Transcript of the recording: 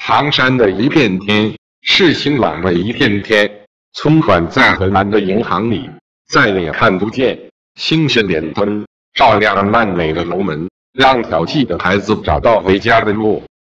唐山的一片天，是晴朗的一片天。存款在荷兰的银行里，再也看不见星星点灯，照亮烂尾的楼门，让淘气的孩子找到回家的路。